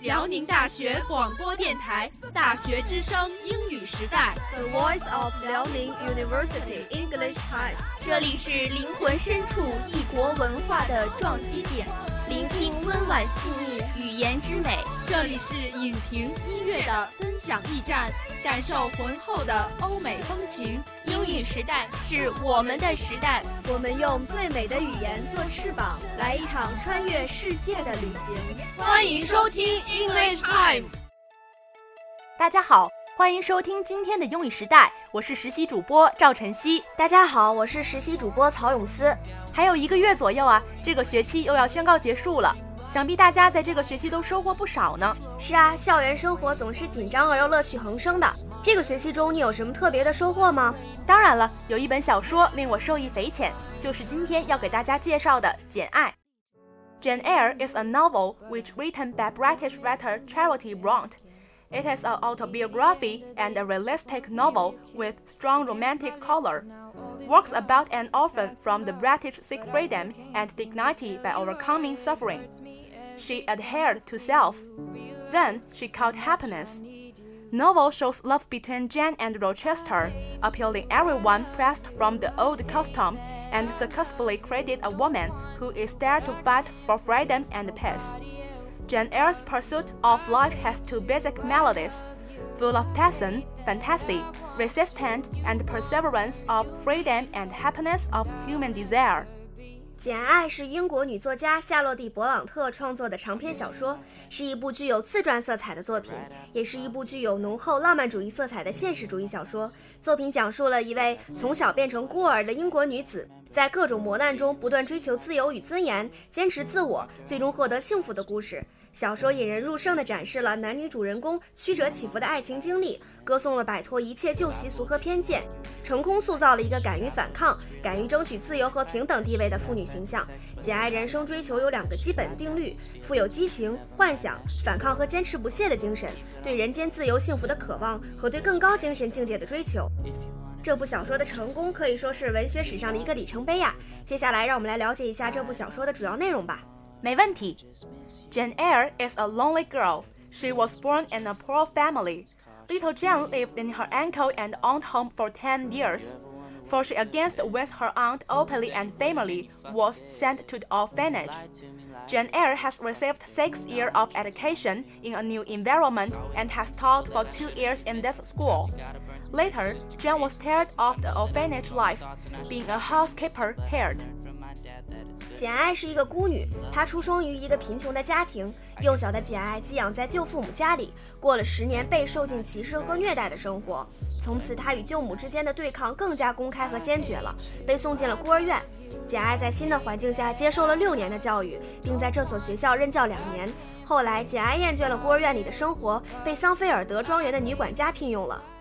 辽宁大学广播电台大学之声英语时代 The Voice of Liaoning University English Time。 这里是灵魂深处异国文化的撞击点，聆听温婉细腻语言之美。 这里是影评音乐的分享驿站，感受浑厚的欧美风情。 英语时代是我们的时代， 我们用最美的语言做翅膀，来一场穿越世界的旅行。 欢迎收听 English Time。 大家好，欢迎收听今天的英语时代，我是实习主播赵晨曦。 大家好，我是实习主播曹永思。 还有1个月左右啊，这个学期又要宣告结束了，想必大家在这个学期都收获不少呢。 是啊，校园生活总是紧张而又乐趣横生的。这个学期中你有什么特别的收获吗？ 当然了，有一本小说令我受益匪浅，就是今天要给大家介绍的《简爱》。Jane Eyre is a novel which written by British writer Charlotte Bronte. It is an autobiography and a realistic novel with strong romantic color. Works about an orphan from the British seek freedom and dignity by overcoming suffering. She adhered to self. Then she caught happiness. Novel shows love between Jane and Rochester, appealing everyone pressed from the old custom, and successfully created a woman who is there to fight for freedom and peace. Jane Eyre's pursuit of life has 2 basic melodies, full of passion, fantasy, resistance, and perseverance of freedom and happiness of human desire. 《简爱》是英国女作家夏洛蒂·勃朗特创作的长篇小说，是一部具有自传色彩的作品，也是一部具有浓厚浪漫主义色彩的现实主义小说。作品讲述了一位从小变成孤儿的英国女子，在各种磨难中不断追求自由与尊严，坚持自我，最终获得幸福的故事。小说引人入胜地展示了男女主人公曲折起伏的爱情经历，歌颂了摆脱一切旧习俗和偏见，成功塑造了一个敢于反抗、敢于争取自由和平等地位的妇女形象。简爱人生追求有2个基本定律，富有激情、幻想、反抗和坚持不懈的精神，对人间自由幸福的渴望和对更高精神境界的追求。这部小说的成功可以说是文学史上的一个里程碑呀。接下来让我们来了解一下这部小说的主要内容吧。 没问题。Jane Eyre is a lonely girl. She was born in a poor family. Little Jane lived in her uncle and aunt home for 10 years. For she against with her aunt openly and family was sent to the orphanage. Jane Eyre has received 6 years of education in a new environment and has taught for 2 years in this school. Later, Jane was tired of the orphanage life, being a housekeeper here. 简爱是一个孤女，她出生于一个贫穷的家庭。幼小的简爱寄养在舅父母家里，过了10年被受尽歧视和虐待的生活。从此，她与舅母之间的对抗更加公开和坚决了，被送进了孤儿院。简爱在新的环境下接受了6年的教育，并在这所学校任教2年。后来，简爱厌倦了孤儿院里的生活，被桑菲尔德庄园的女管家聘用了。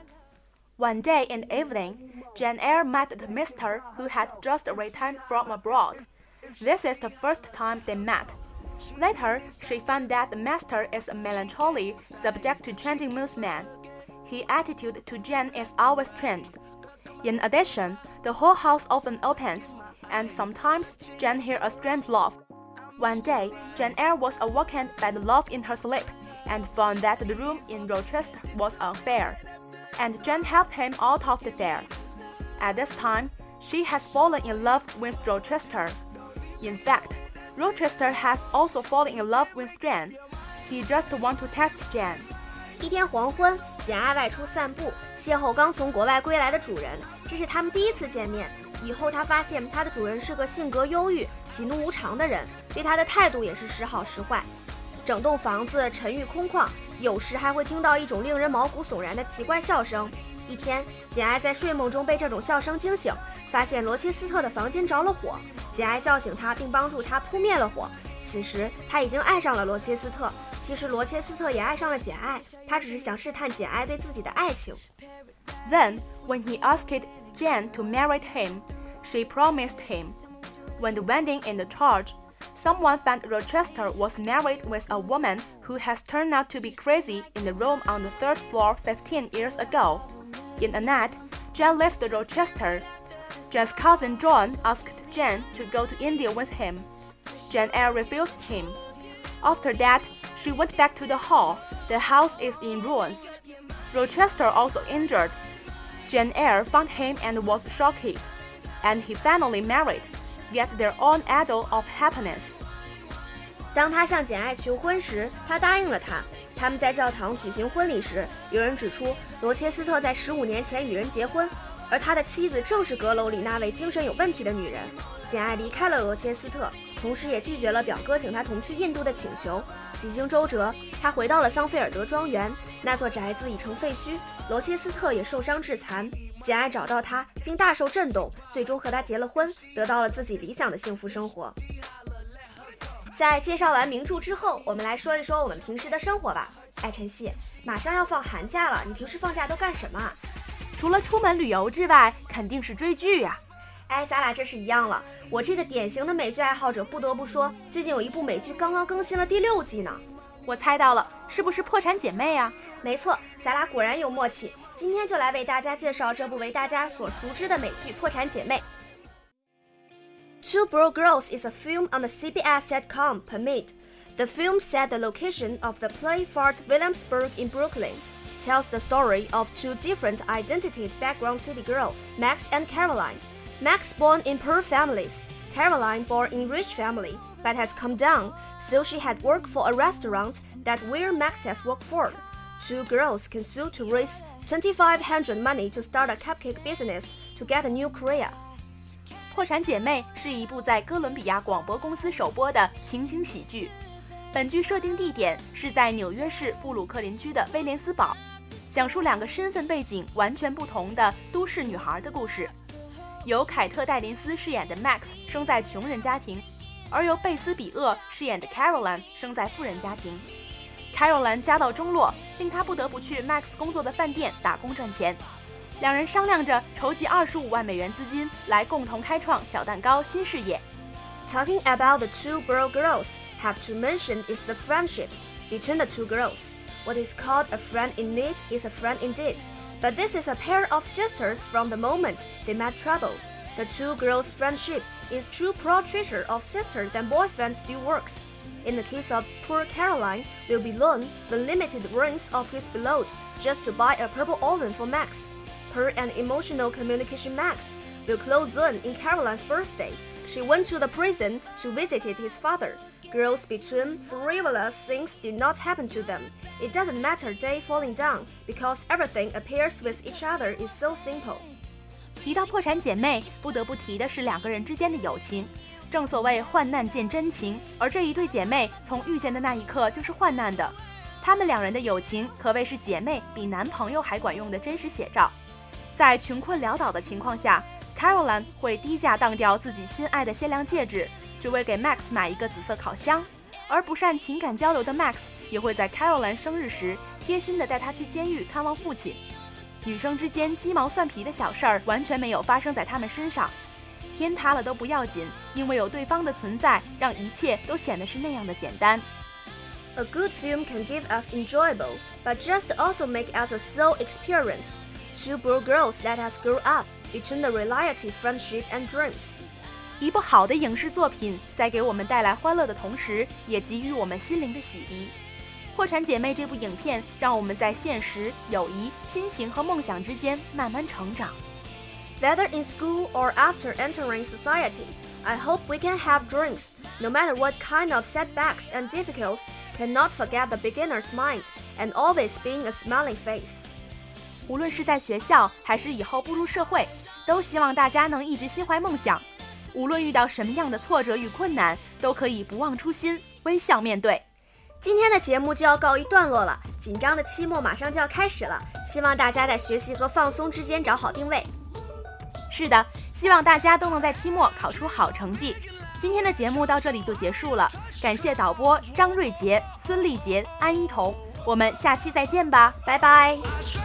One day in the evening, Jane Eyre met the mister who had just returned from abroad.This is the first time they met. Later, she found that the master is a melancholy, subject to changing moods man. His attitude to Jane is always changed. In addition, the whole house often opens, and sometimes Jane hears a strange laugh. One day, Jane Eyre was awakened by the laugh in her sleep, and found that the room in Rochester was on fire. And Jane helped him out of the fire. At this time, she has fallen in love with Rochester.In fact, Rochester has also fallen in love with Jane. He just wants to test Jane. 一天黄昏，简爱外出散步，邂逅刚从国外归来的主人，这是他们第一次见面。以后他发现他的主人是个性格忧郁、喜怒无常的人，对他的态度也是时好时坏。整栋房子沉郁空旷，有时还会听到一种令人毛骨悚然的奇怪笑声。一天，简爱在睡梦中被这种笑声惊醒，发现罗切斯特的房间着了火。简爱叫醒他，并帮助他扑灭了火。此时，他已经爱上了罗切斯特。其实，罗切斯特也爱上了简爱，他只是想试探简爱对自己的爱情。 Then, when he asked Jane to marry him, she promised him. When the wedding in the church, someone found Rochester was married with a woman who has turned out to be crazy in the room on the 3rd floor 15 years ago. In a night, Jane left Rochester. Jane's cousin John asked Jane to go to India with him. Jane Eyre refused him. After that, She went back to the hall. The house is in ruins. Rochester also injured. Jane Eyre found him and was shocked, and he finally married, get their own idol of happiness. 当他向简爱求婚时，他答应了他。他们在教堂举行婚礼时，有人指出罗切斯特在15年前与人结婚，而他的妻子正是阁楼里那位精神有问题的女人。简爱离开了罗切斯特，同时也拒绝了表哥请他同去印度的请求。几经周折，他回到了桑菲尔德庄园，那座宅子已成废墟，罗切斯特也受伤致残。简爱找到他，并大受震动，最终和他结了婚，得到了自己理想的幸福生活。在介绍完名著之后，我们来说一说我们平时的生活吧。哎，晨曦，马上要放寒假了，你平时放假都干什么啊？ 除了出门旅游之外，肯定是追剧呀。 哎，咱俩这是一样了。我这个典型的美剧爱好者，不得不说，最近有一部美剧刚刚更新了第6季呢。 我猜到了，是不是《破产姐妹》啊？ 没错，咱俩果然有默契。今天就来为大家介绍这部为大家所熟知的美剧《破产姐妹》。Two Broke Girls is a film on the CBS sitcom Pyramid. The film set the location of the play Fort Williamsburg in Brooklyn, tells the story of two different identity background city girls, Max and Caroline. Max born in poor families, Caroline born in rich family, but has come down, so she had worked for a restaurant that where Max has worked for. Two girls can sue to raise $2,500 money to start a cupcake business to get a new career. 破产姐妹是一部在哥伦比亚广播公司首播的情景喜剧。本剧设定地点是在纽约市布鲁克林区的威廉斯堡，讲述2个身份背景完全不同的都市女孩的故事。由凯特·戴琳斯饰演的 Max 生在穷人家庭，而由贝斯·比厄饰演的 Caroline 生在富人家庭。Caroline 家道中落，令她不得不去 Max 工作的饭店打工赚钱。2人商量着筹集25万美元资金，来共同开创小蛋糕新事业。 Talking about the two broke girls, have to mention is the friendship between the two girls. What is called a friend in need is a friend indeed. But this is a pair of sisters from the moment they met trouble. The two girls' friendship is true portraiture of sister than boyfriend still works. In the case of poor Caroline, will be loaned the limited rings of his beloved just to buy a purple oven for Max. Per an emotional communication Max will close on in Caroline's birthday. She went to the prison to visit his father. Girls between frivolous things did not happen to them. It doesn't matter day falling down, because everything appears with each other is so simple. 提到破产姐妹，不得不提的是2个人之间的友情。正所谓患难见真情，而这一对姐妹从遇见的那一刻就是患难的。她们2人的友情可谓是姐妹比男朋友还管用的真实写照。在穷困潦倒的情况下， Caroline 会低价当掉自己心爱的限量戒指，只为给 Max 买一个紫色烤箱。而不善情感交流的 Max 也会在 Caroline 生日时贴心地带她去监狱看望父亲。女生之间鸡毛蒜皮的小事儿完全没有发生在他们身上。天塌了都不要紧，因为有对方的存在，让一切都显得是那样的简单。 A good film can give us enjoyable, but just also make us a soul experience. Two broke girls let us grow up between the reality, friendship, and dreams. 一部好的影视作品在给我们带来欢乐的同时，也给予我们心灵的洗涤。破产姐妹这部影片让我们在现实、友谊、亲情和梦想之间慢慢成长。 Whether in school or after entering society, I hope we can have dreams. No matter what kind of setbacks and difficulties, cannot forget the beginner's mind and always being a smiling face. 无论是在学校还是以后步入社会，都希望大家能一直心怀梦想。无论遇到什么样的挫折与困难，都可以不忘初心，微笑面对。 今天的节目就要告一段落了，紧张的期末马上就要开始了，希望大家在学习和放松之间找好定位。 是的，希望大家都能在期末考出好成绩。今天的节目到这里就结束了，感谢导播张瑞杰、孙丽杰、安一彤，我们下期再见吧， 拜拜。